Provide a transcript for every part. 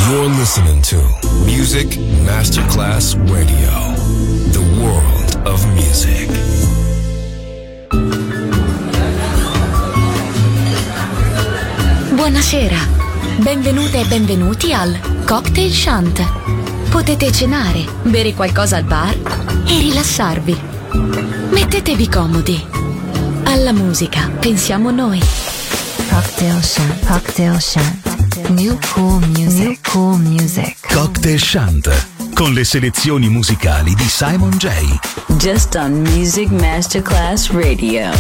You're listening to Music Masterclass Radio, the world of music. Buonasera, benvenute e benvenuti al Cocktail Shant. Potete cenare, bere qualcosa al bar e rilassarvi. Mettetevi comodi. Alla musica pensiamo noi. Cocktail Shant. Cocktail Shant. New cool music. New cool music. Cocktail Shant, con le selezioni musicali di Simon J. Just on Music Masterclass Radio.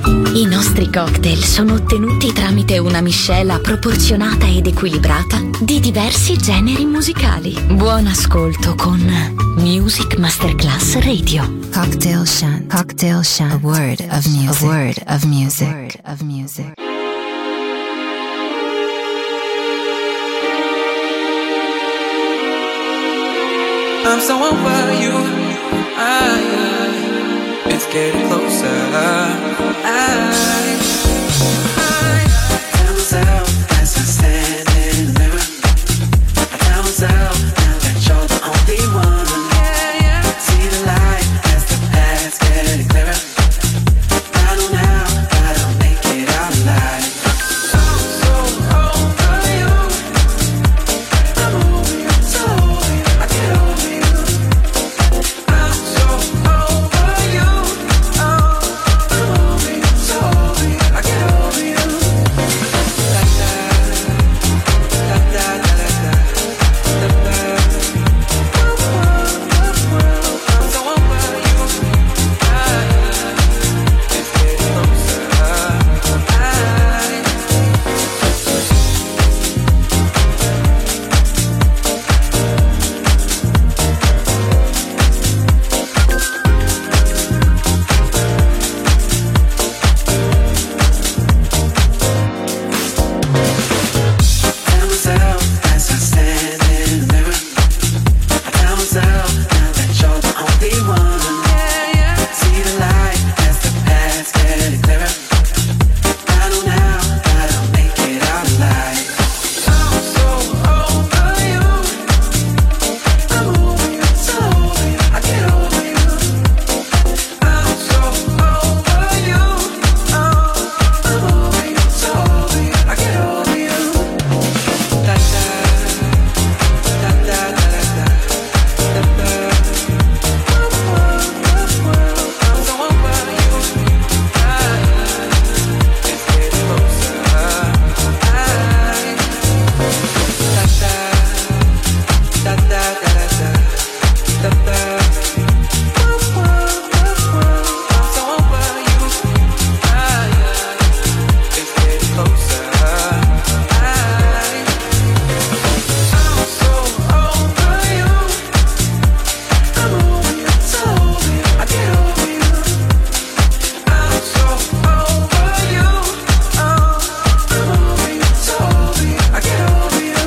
I nostri cocktail sono ottenuti tramite una miscela proporzionata ed equilibrata di diversi generi musicali. Buon ascolto con Music Masterclass Radio. Cocktail Shant. Cocktail Shant. A word of music. A word of music. A word of music. I'm so over you. It's getting closer. Tell myself as I stand in the mirror. I tell myself now that you're the only one. See the light as the path's getting clearer. I know now that I'll make it out alive. I'm so over you. I'm over you, so over you. I get over you. I'm so over you. I'm over you, so over you. I get over you. Da da da da da da da da. I'm so over you. It's getting closer. Tell myself as I stand in the mirror. I tell myself now that you're the only one. See the light as the path's getting clearer. I know now that I'll make it out alive. I'm so over you. I'm over you, so over you. I get over you. I'm so over you. I'm over you, so over you. I get over you. Da da da da da da da da. I'm so over you. It's getting closer. Da da da da da da da da. I'm so over you. It's getting closer. I'm so over you. I'm over you, so over you. I get over you. I'm so over you. I'm over you, so over you. I get over you.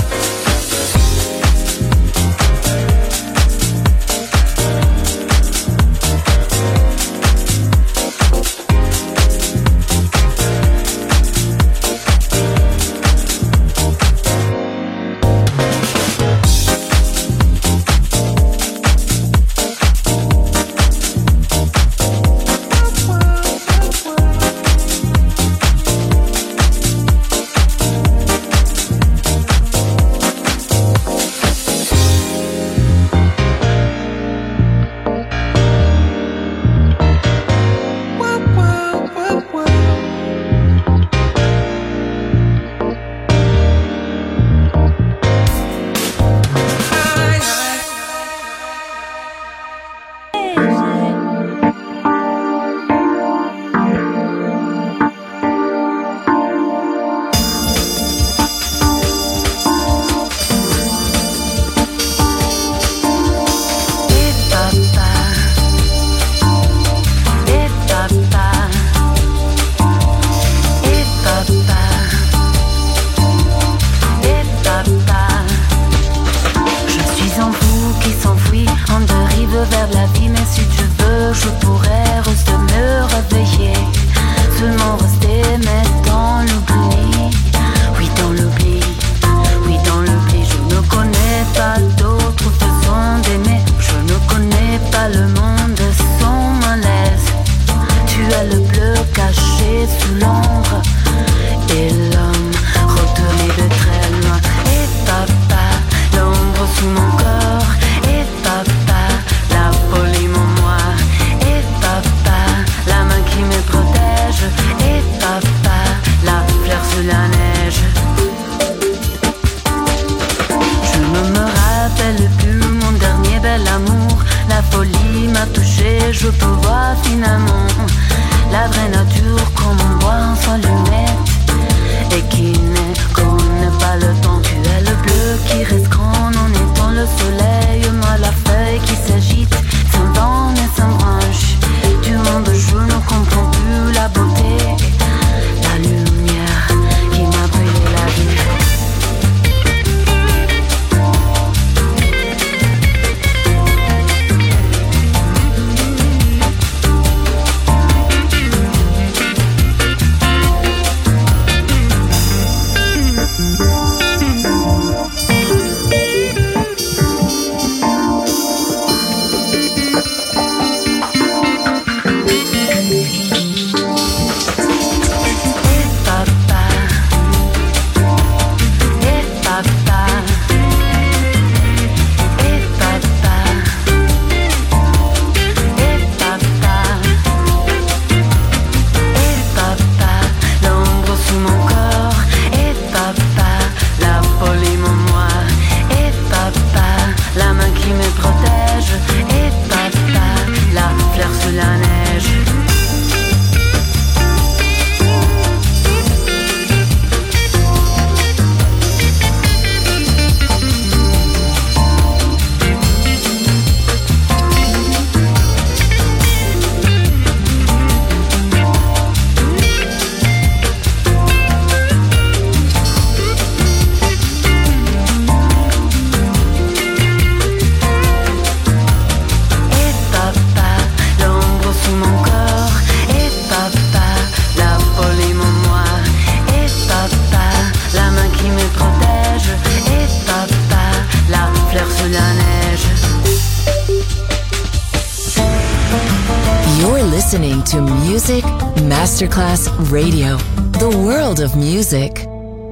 Je suis un fou qui s'enfuit en dérive vers la vie, mais si tu veux, je pourrais rester me réveiller, seulement rester, mais dans l'oubli. Oui, dans l'oubli, oui, dans l'oubli. Je ne connais pas d'autre façon d'aimer. Je ne connais pas le monde sans malaise. Tu as le bleu caché sous l'ombre et l'homme retourné de très loin. Et papa, l'ombre sous mon corps. Et papa, la folie mon moi. Et papa, la main qui me protège. Et papa, la fleur sous la neige. Je ne me rappelle plus mon dernier bel amour. La folie m'a touché, je peux voir finalement la vraie nature listening to Music Masterclass Radio, the world of music.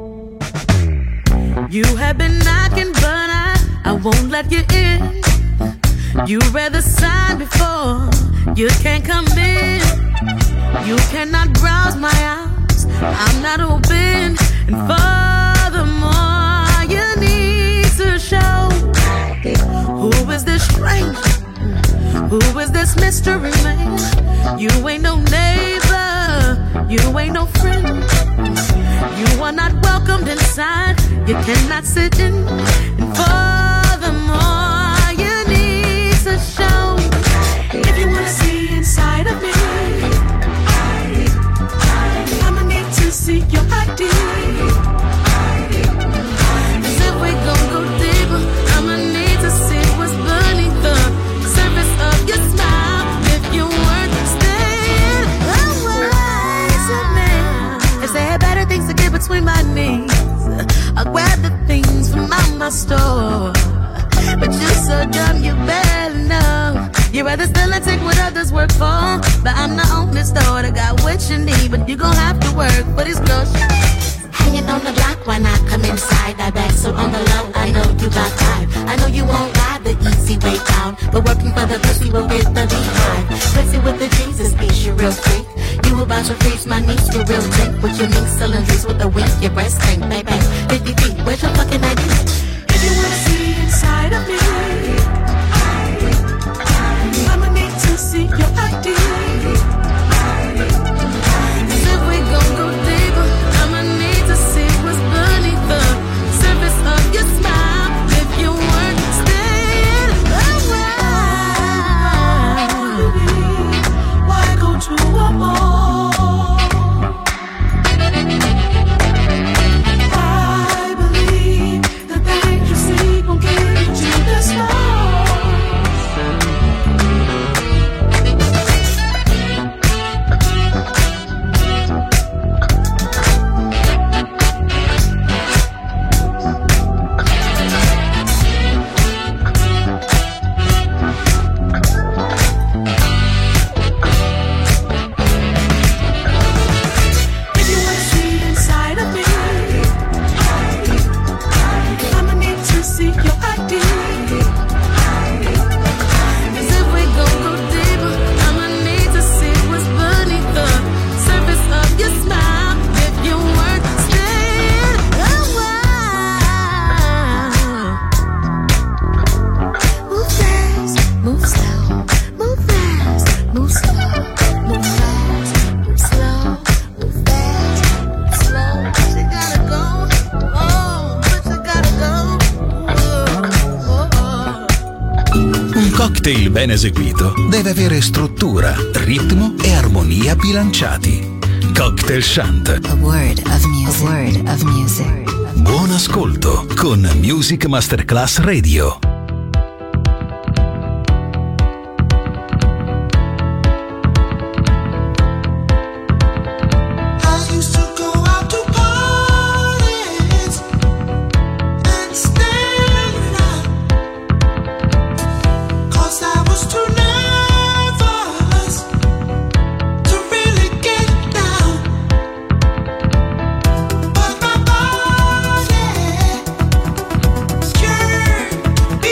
You have been knocking, but I won't let you in. You read the sign before, you can't come in. You cannot browse my house, I'm not open. And furthermore, you need to show who is this stranger? Who is this mystery man? You ain't no neighbor, you ain't no friend. You are not welcomed inside, you cannot sit in. And furthermore, you need to show. If you wanna see inside of me, I'ma need to see your ID. 'Cause if we gon' go deeper, I'ma need to see what's beneath the surface of your smile. If you weren't staying away from me, if there are better things to get between my knees, I'll grab the things from out my store. But you're so dumb, you better know. You'd rather still and take what others work for. But I'm the only store that got what you need. But you gon' have to work for these girls. Hanging on the block when I come inside. I bet so on the low, I know you got time. I know you won't ride the easy way out, but working for the pussy will get the behind. Pussy with the Jesus piece, you real freak. You about to freeze my knees, you real drink. With your mink cylinders with the wink, your breast tank, baby. 50 feet, where's your fucking ID? If you wanna see inside of me, I'ma need to see your ID. 'Cause if we gon' go deeper, I'ma need to see what's beneath the surface of your smile. If you weren't staying away, why go to a mall? I believe the things you see gon' get you this far. If you wanna see inside of me, I'ma need to see your ID. 'Cause if we gon' go deeper, I'ma need to see what's beneath the surface of your smile. If you weren't staying away, move fast, move slow, move fast, move slow, move fast, move slow, move fast, move slow. But you gotta go, oh, but you gotta go, Un cocktail ben eseguito deve avere struttura, ritmo e armonia bilanciati. Cocktail Shant. A word of music. A word of music. Buon ascolto con Music Masterclass Radio. I used to go out to parties and stand around, 'cause I was too nervous to really get down. But my body yearned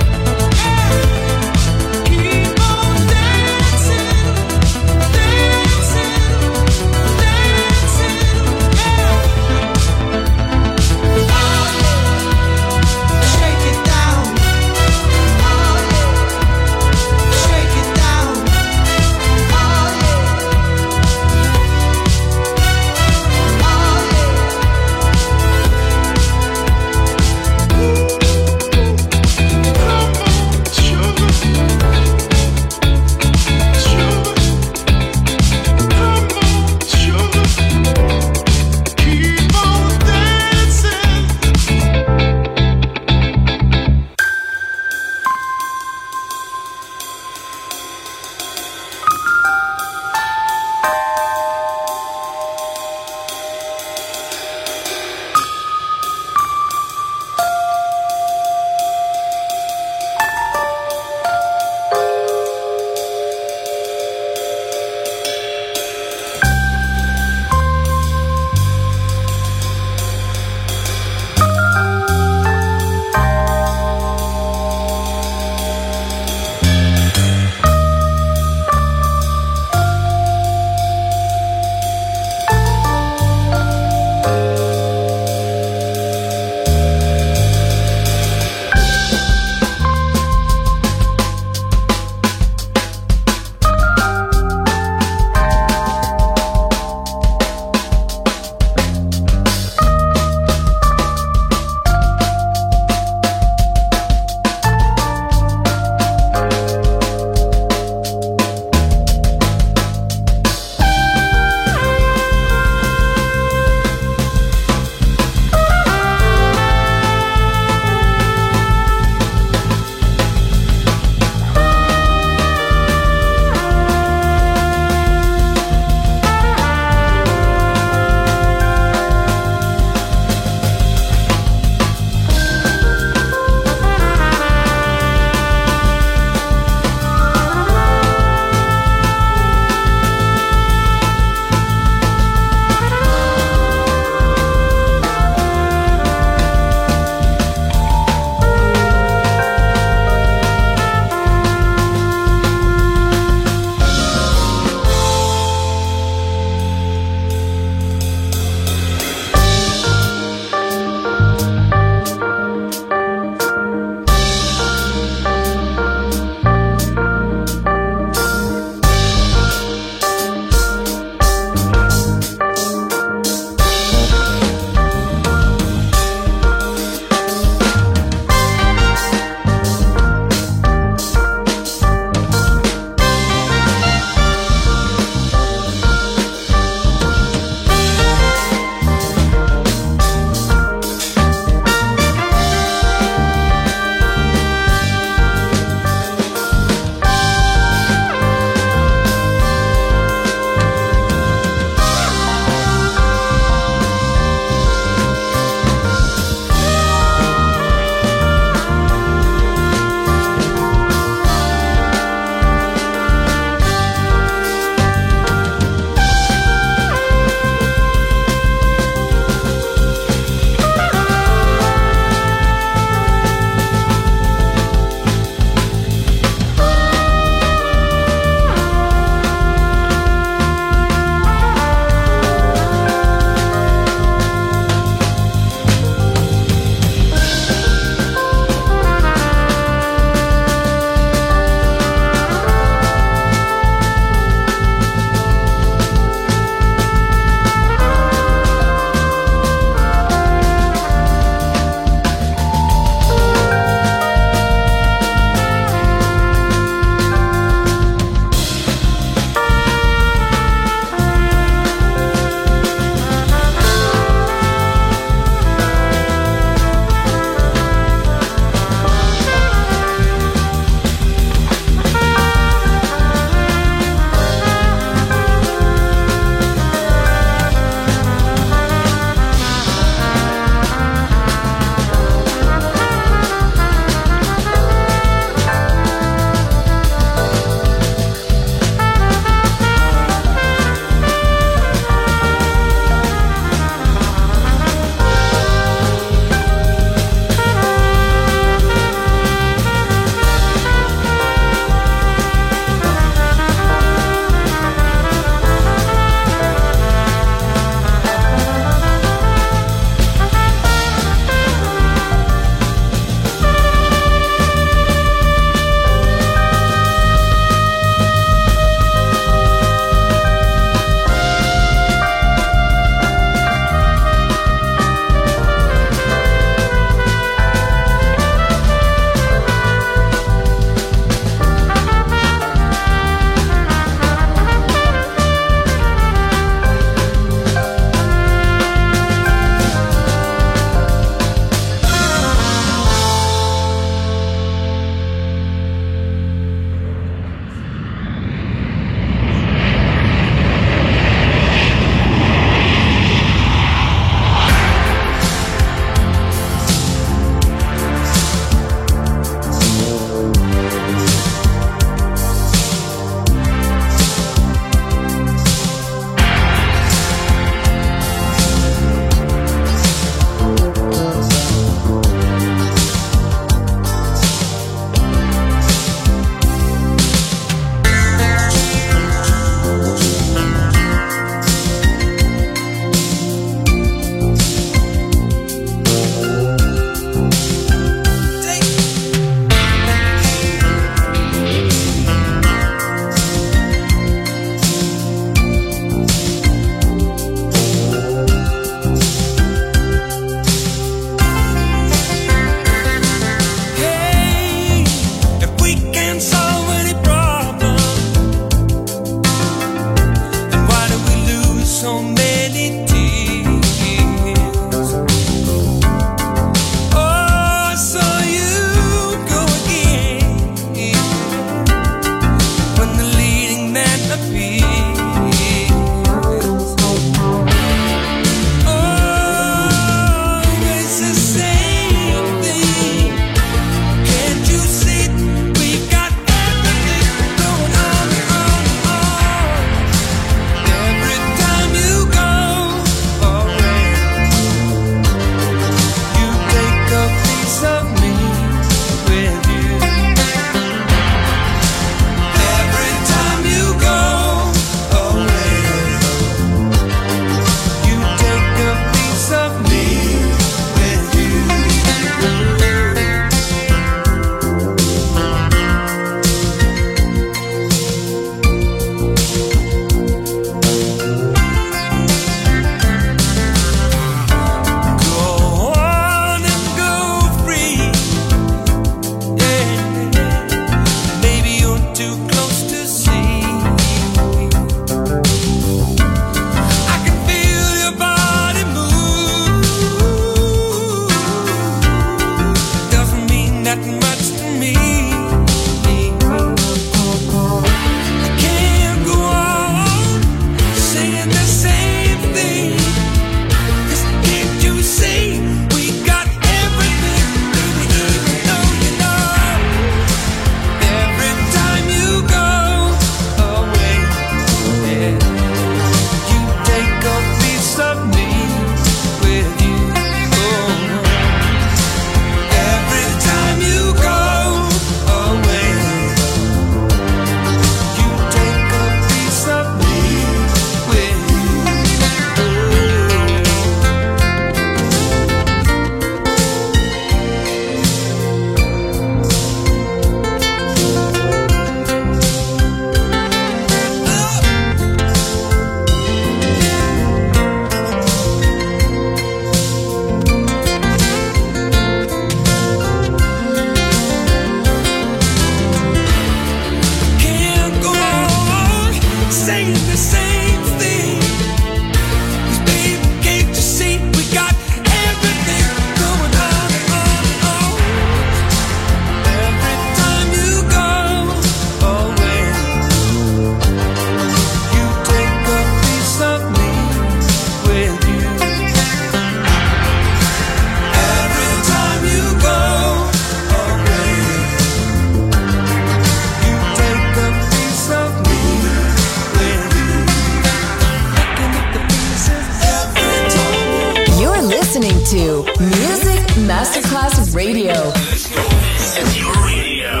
Radio. Your radio.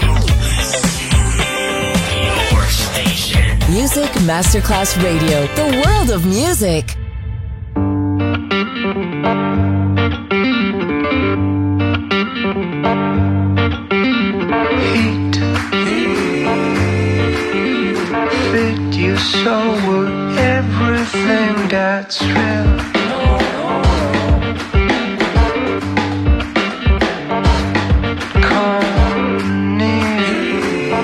Your station. Music Masterclass Radio. The world of music. Heat. Fit you so would everything that's real. Come near,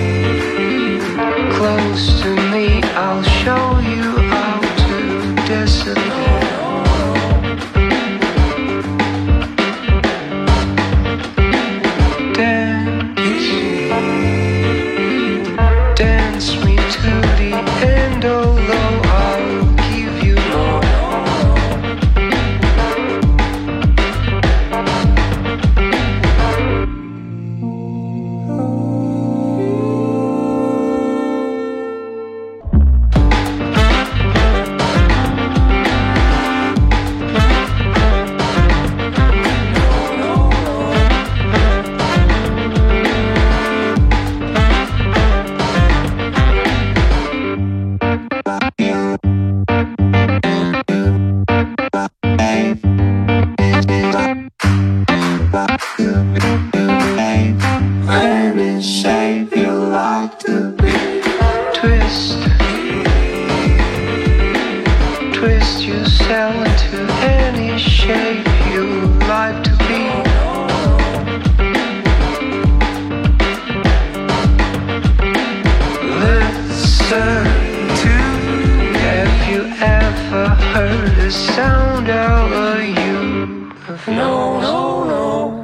close to me, I'll show you how to disappear. Dance me to the end, although I'll give you more. Any shape you like to be. Twist, twist yourself into any shape you like to be. Listen to, have you ever heard the sound of a you? No, no, no.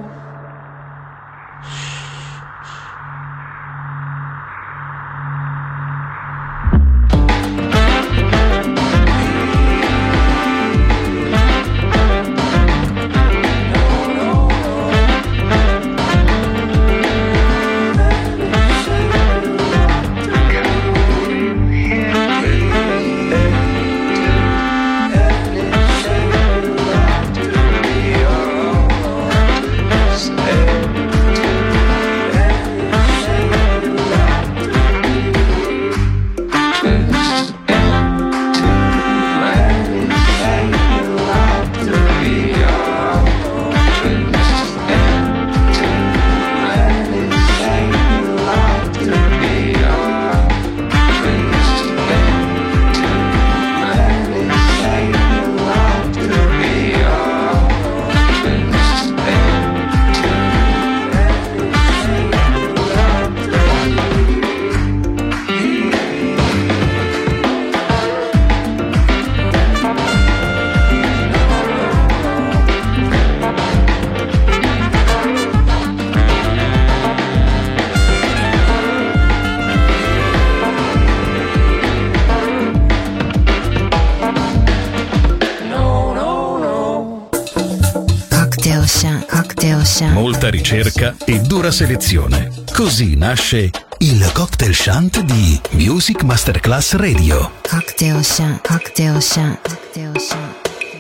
Molta ricerca e dura selezione. Così nasce il Cocktail Shant di Music Masterclass Radio. Cocktail Shant, Cocktail Shant, Cocktail Shant.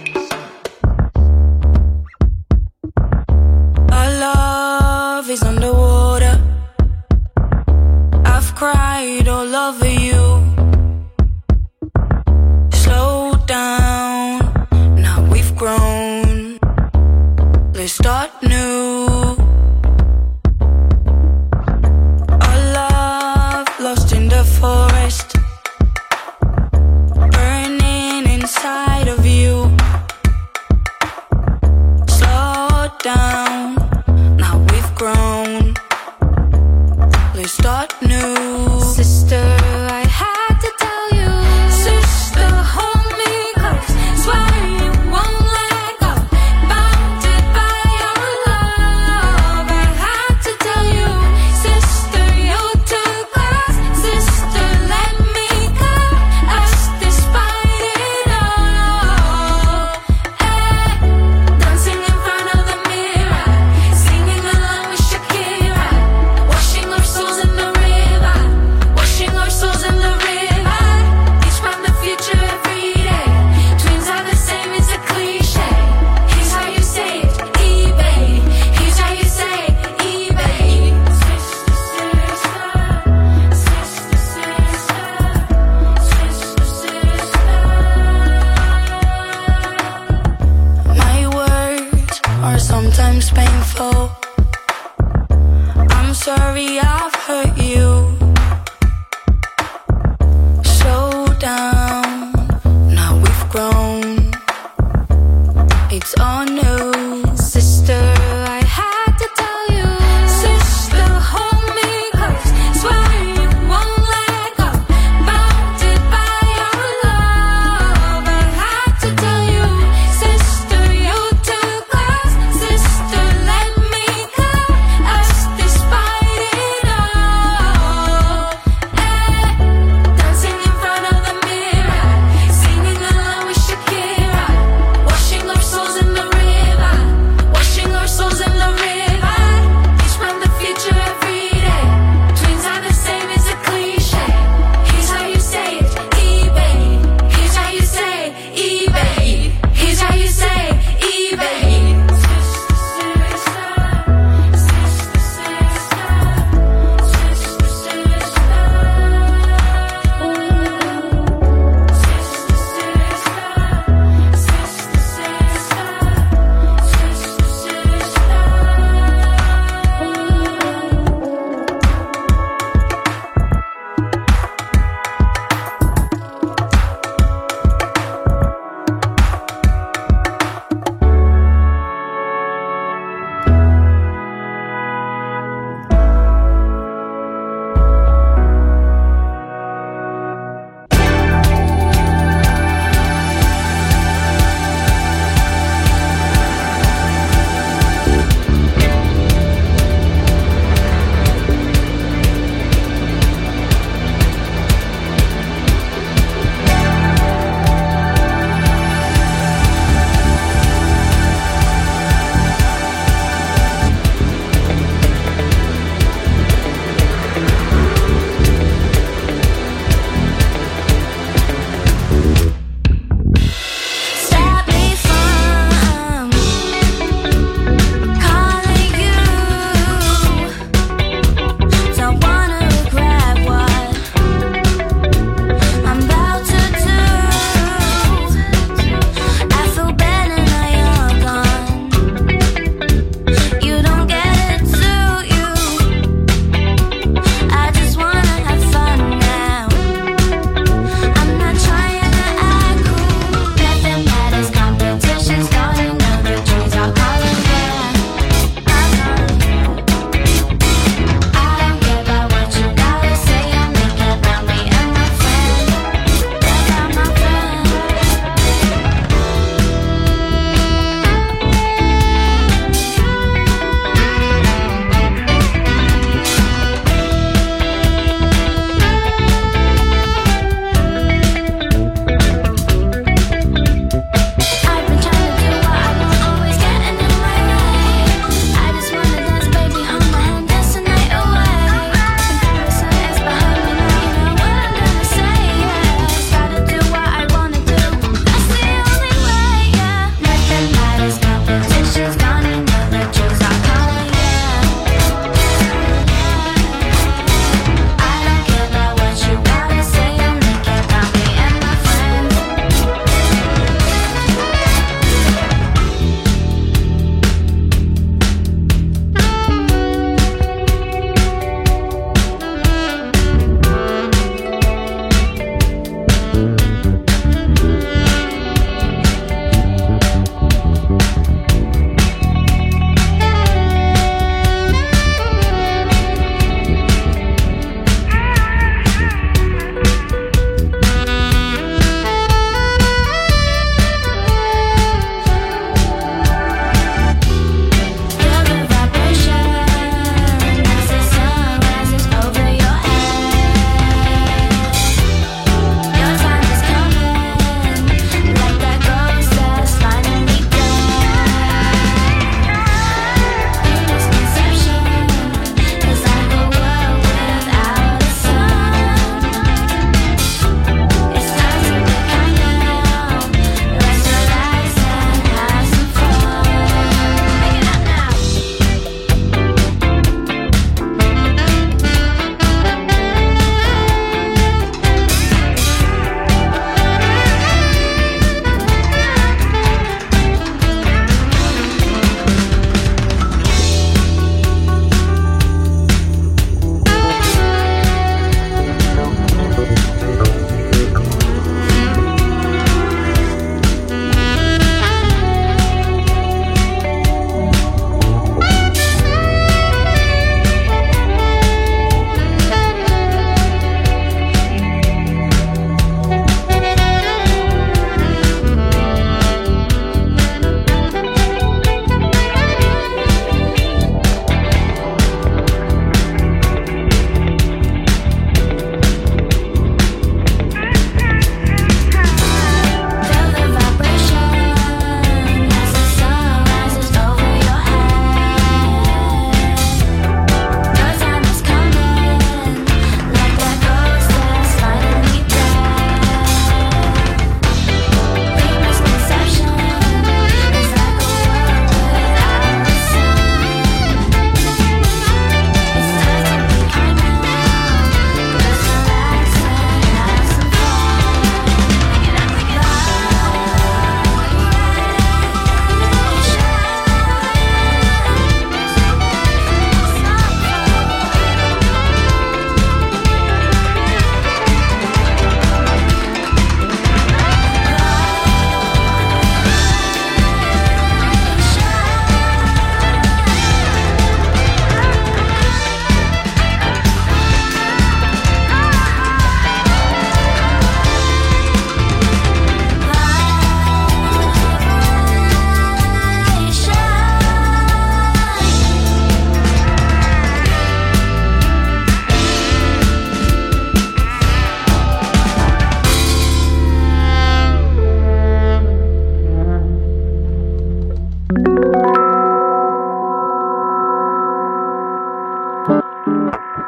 Our love is underwater. I've cried all over you. Slow down, now we've grown. Let's start new. Our love lost in the forest, burning inside of you. Slow down, now we've grown. Let's start new. Sister, I had to tell you. Sister, hold me close. Swear you won't let go. Bounded by your love. I had to tell you. Sister, you're too close. Sister, let me go. Us despite it all. Hey, dancing in front of the mirror, singing along with Shakira, washing our souls in the river, washing our souls sorry I've hurt you. Slow down, now we've grown. It's all new, sister. I had to tell you, sister, hold me close. Swear you won't let go. Bounded by your love. I had to tell you, sister, you're too close. Sister, let me go. Us despite it all.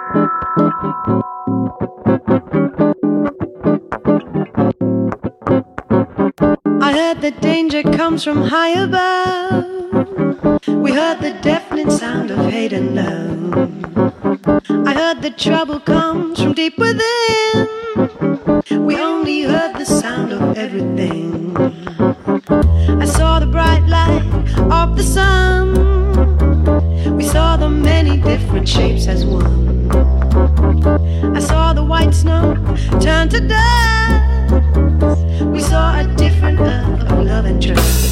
I heard the danger comes from high above. We heard the deafening sound of hate and love. I heard the trouble comes from deep within. We only heard the sound of everything. I saw the bright light of the sun. We saw the many different shapes as one. I saw the white snow turn to dust. We saw a different earth of love and trust.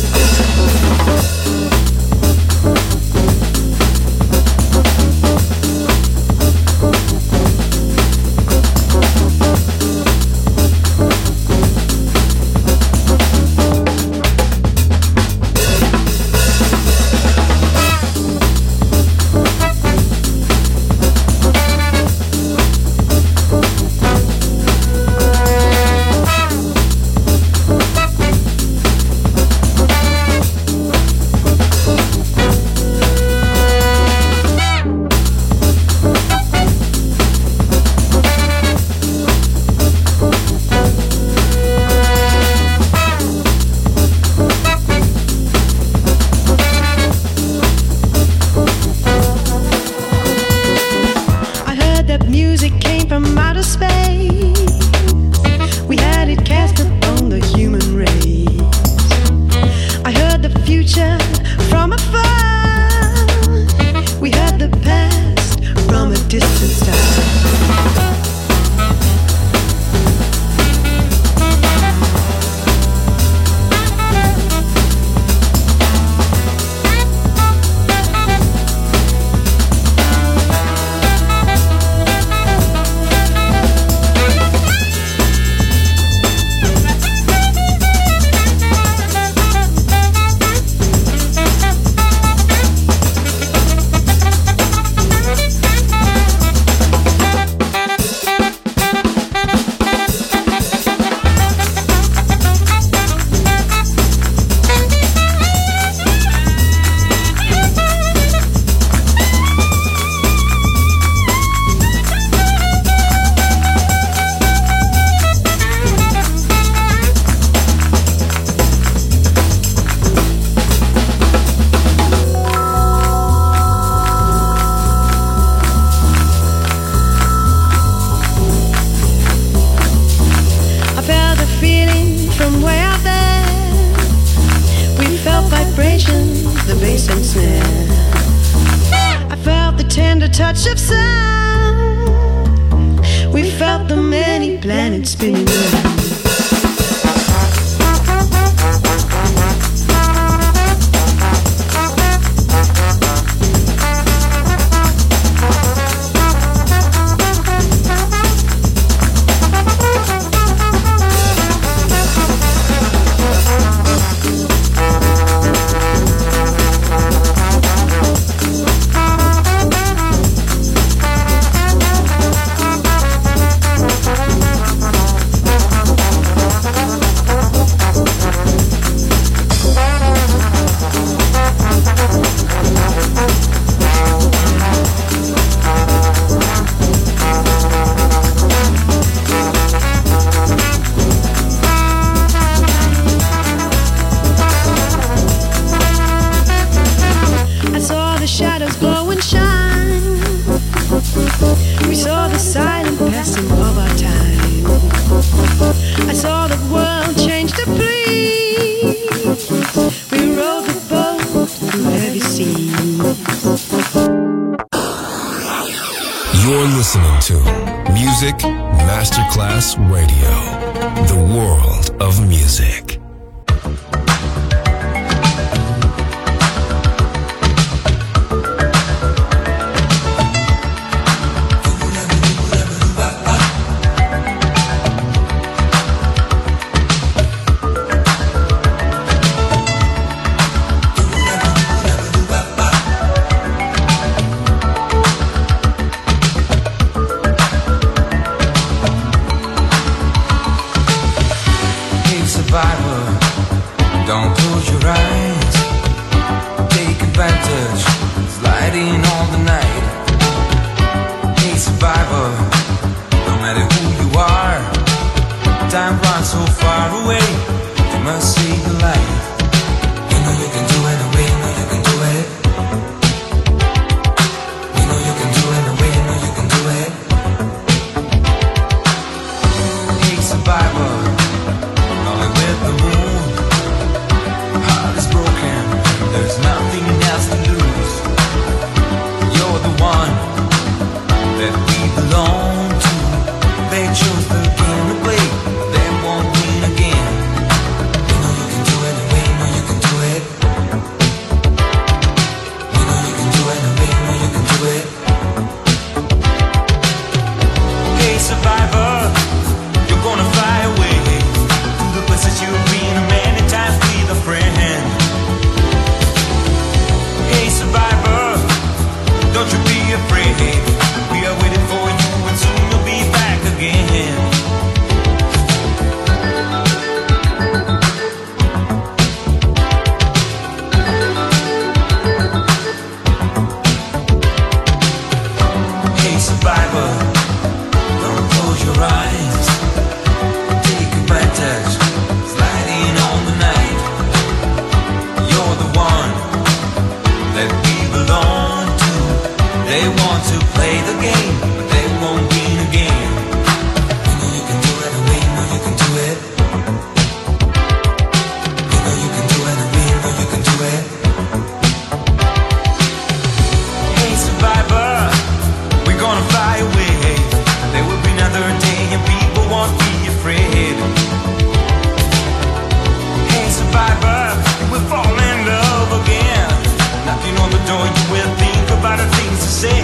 Touch of sound. We felt the many planets spinning around. You're listening to Music Masterclass Radio, the world of music. Survival so far away. You must save your life. You know you can do it, we know you can do it. We know you can do it, we know you can do it. Hey survivor, only with the moon. Heart is broken, there's nothing else to lose. You're the one that we belong to. They chose the game to play, they won't win again. We know you can do it, and we know you can do it. We know you can do it, and we know you can do it. Hey survivor, you're gonna fly away to the places you've been many times with a friend. Hey survivor, don't you be afraid. We are waiting for you and soon you'll be back again. Hey survivor, don't close your eyes. Take advantage, sliding on the night. You're the one that we belong to. They want to play the game, but they won't win again. We know you can do it, and we know you can do it. We know you can do it, and we know you can do it. Hey survivor, we're gonna fly away. There will be another day and people won't be afraid. Hey survivor, we'll fall in love again. Knocking on the door, you will think about the things to say.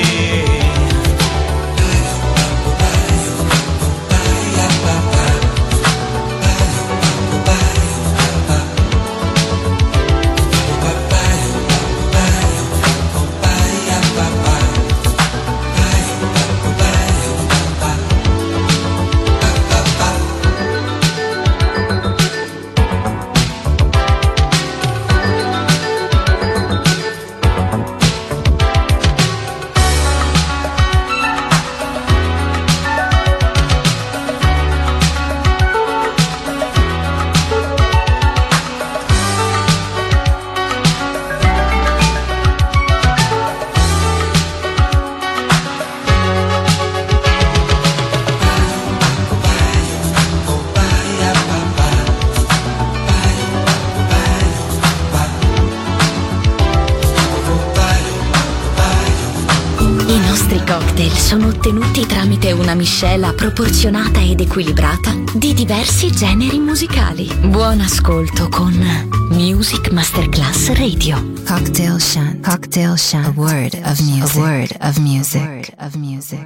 Sono ottenuti tramite una miscela proporzionata ed equilibrata di diversi generi musicali. Buon ascolto con Music Masterclass Radio. Cocktail Shunt. Cocktail Shunt. A word of music. A word of music. A word of music.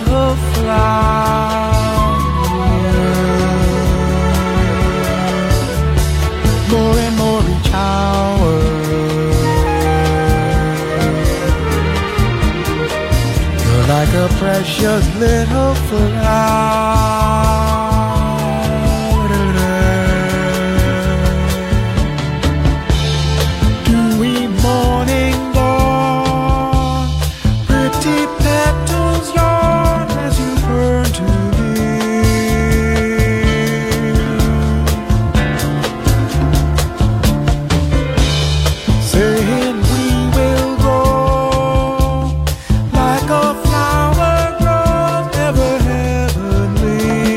little flower. More and more each hour. You're like a precious little flower. Dewy morning dawn, pretty petals yawn as you burn to saying we will grow like a flower grows, ever heavenly.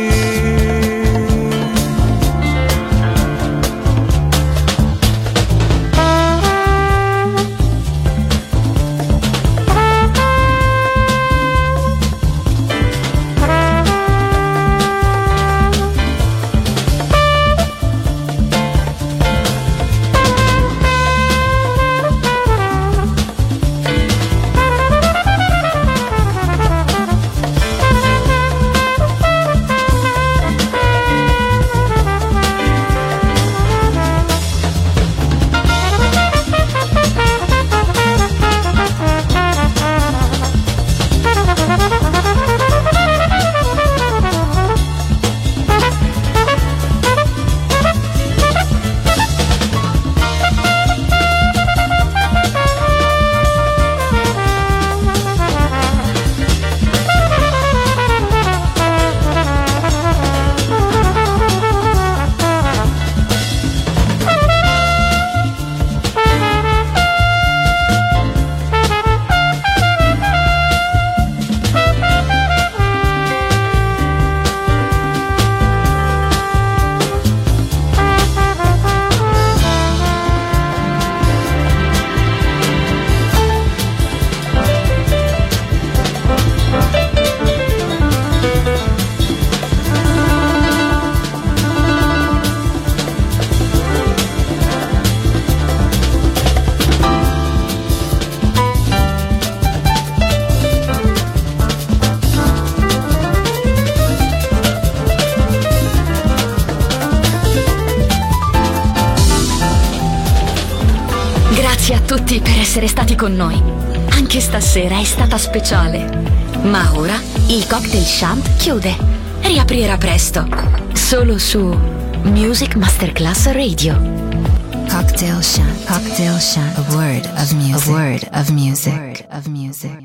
Grazie a tutti per essere stati con noi. Anche stasera è stata speciale. Ma ora il Cocktail Shant chiude. Riaprirà presto. Solo su Music Masterclass Radio. Cocktail Shant. Cocktail Shant. A word of music. A word of music.